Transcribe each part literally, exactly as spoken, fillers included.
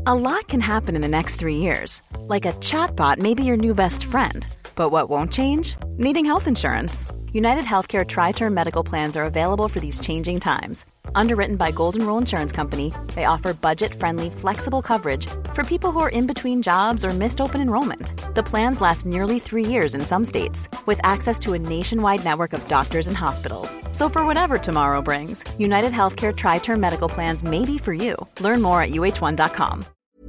A lot can happen in the next three years. Like a chatbot may be your new best friend. But what won't change? Needing health insurance. United Healthcare Tri-Term Medical Plans are available for these changing times. Underwritten by Golden Rule Insurance Company, they offer budget-friendly, flexible coverage for people who are in between jobs or missed open enrollment. The plans last nearly three years in some states, with access to a nationwide network of doctors and hospitals. So for whatever tomorrow brings, United Healthcare Tri-Term Medical Plans may be for you. Learn more at U H one dot com.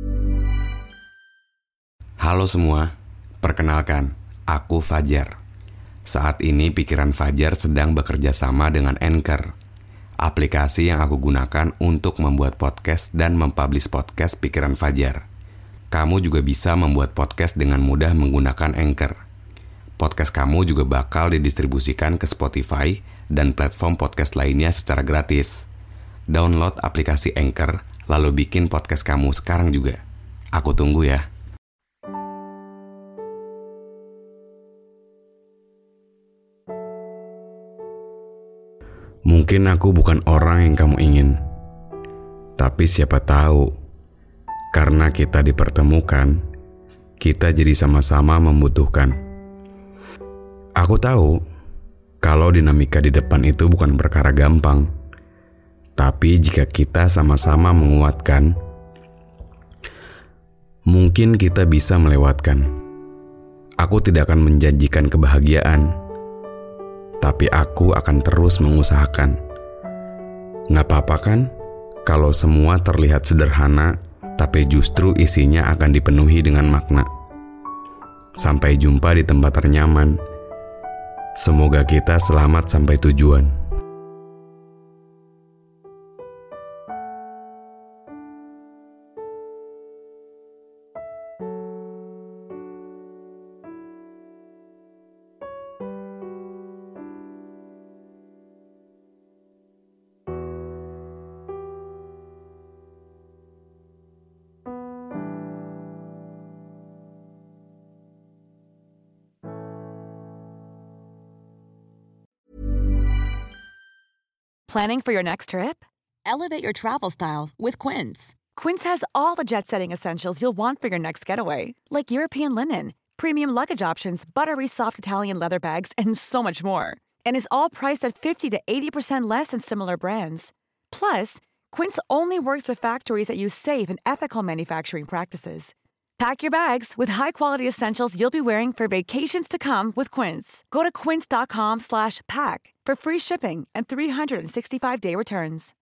Halo semua, perkenalkan, aku Fajar. Saat ini pikiran Fajar sedang bekerja sama dengan Anchor, aplikasi yang aku gunakan untuk membuat podcast dan mempublish podcast pikiran Fajar. Kamu juga bisa membuat podcast dengan mudah menggunakan Anchor. Podcast kamu juga bakal didistribusikan ke Spotify dan platform podcast lainnya secara gratis. Download aplikasi Anchor, lalu bikin podcast kamu sekarang juga. Aku tunggu ya. Mungkin aku bukan orang yang kamu ingin, tapi siapa tahu, karena kita dipertemukan, kita jadi sama-sama membutuhkan. Aku tahu, kalau dinamika di depan itu bukan perkara gampang, tapi jika kita sama-sama menguatkan, mungkin kita bisa melewatkan. Aku tidak akan menjanjikan kebahagiaan, tapi aku akan terus mengusahakan. Nggak apa-apa kan kalau semua terlihat sederhana, tapi justru isinya akan dipenuhi dengan makna. Sampai jumpa di tempat ternyaman. Semoga kita selamat sampai tujuan. Planning for your next trip? Elevate your travel style with Quince. Quince has all the jet-setting essentials you'll want for your next getaway, like European linen, premium luggage options, buttery soft Italian leather bags, and so much more. And is all priced at fifty to eighty percent less than similar brands. Plus, Quince only works with factories that use safe and ethical manufacturing practices. Pack your bags with high-quality essentials you'll be wearing for vacations to come with Quince. Go to quince.com slash pack for free shipping and three sixty-five day returns.